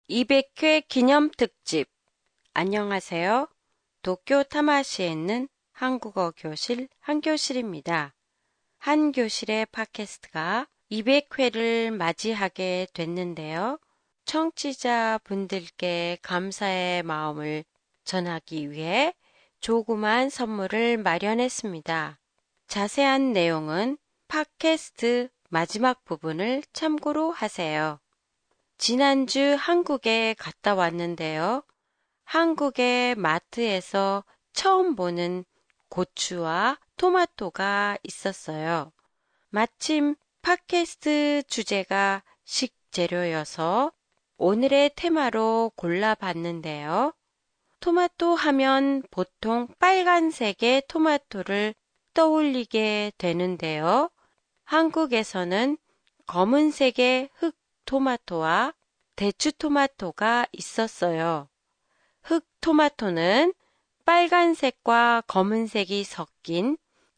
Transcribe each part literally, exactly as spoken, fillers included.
이백 회 기념 특집. 안녕하세요. 도쿄 타마시에 있는 한국어 교실 한교실입니다. 한교실의 팟캐스트가 이백 회를 맞이하게 됐는데요. 청취자 분들께 감사의 마음을 전하기 위해 조그만 선물을 마련했습니다. 자세한 내용은 팟캐스트 마지막 부분을 참고로 하세요. 지난주 한국에 갔다 왔는데요. 한국의 마트에서 처음 보는 고추와 토마토가 있었어요. 마침 팟캐스트 주제가 식재료여서 오늘의 테마로 골라봤는데요. 토마토 하면 보통 빨간색의 토마토를 떠올리게 되는데요. 한국에서는 검은색의 흑 토마토와 대추 토마토가 있었어요. 흑 토마토는 빨간색과 검은색이 섞인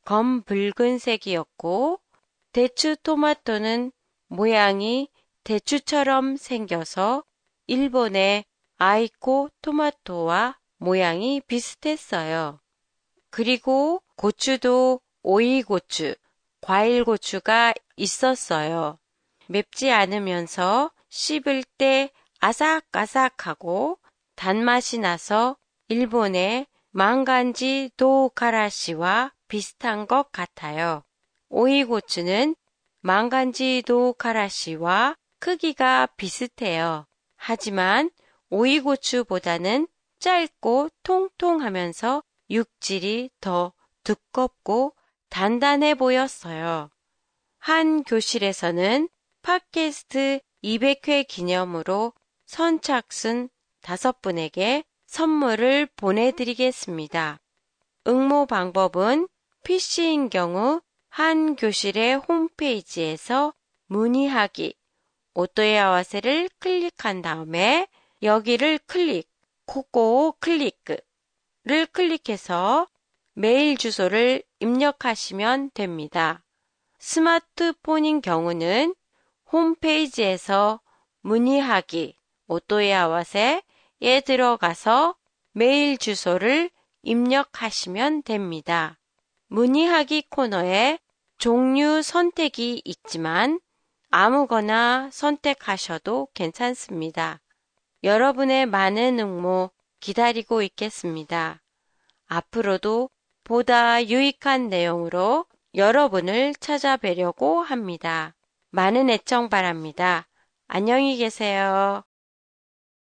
검붉은색이었고, 대추 토마토는 모양이 대추처럼 생겨서 일본의 아이코 토마토와 모양이 비슷했어요. 그리고 고추도 오이고추, 과일고추가 있었어요. 맵지 않으면서 씹을 때 아삭아삭하고 단맛이 나서 일본의 망간지 도가라시와 비슷한 것 같아요. 오이고추는 망간지 도가라시와 크기가 비슷해요. 하지만 오이고추보다는 짧고 통통하면서 육질이 더 두껍고 단단해 보였어요. 한 교실에서는 팟캐스트 이백 회 기념으로 선착순 다섯 분에게 선물을 보내드리겠습니다. 응모 방법은 피씨인 경우 한 교실의 홈페이지에서 문의하기, 오토야와세를 클릭한 다음에 여기를 클릭, 코코 클릭을 클릭해서 메일 주소를 입력하시면 됩니다. 스마트폰인 경우는 홈페이지에서 문의하기, 오토야와세에 들어가서 메일 주소를 입력하시면 됩니다. 문의하기 코너에 종류 선택이 있지만 아무거나 선택하셔도 괜찮습니다. 여러분의 많은 응모 기다리고 있겠습니다. 앞으로도 보다 유익한 내용으로 여러분을 찾아뵈려고 합니다. 많은 애청 바랍니다. 안녕히 계세요.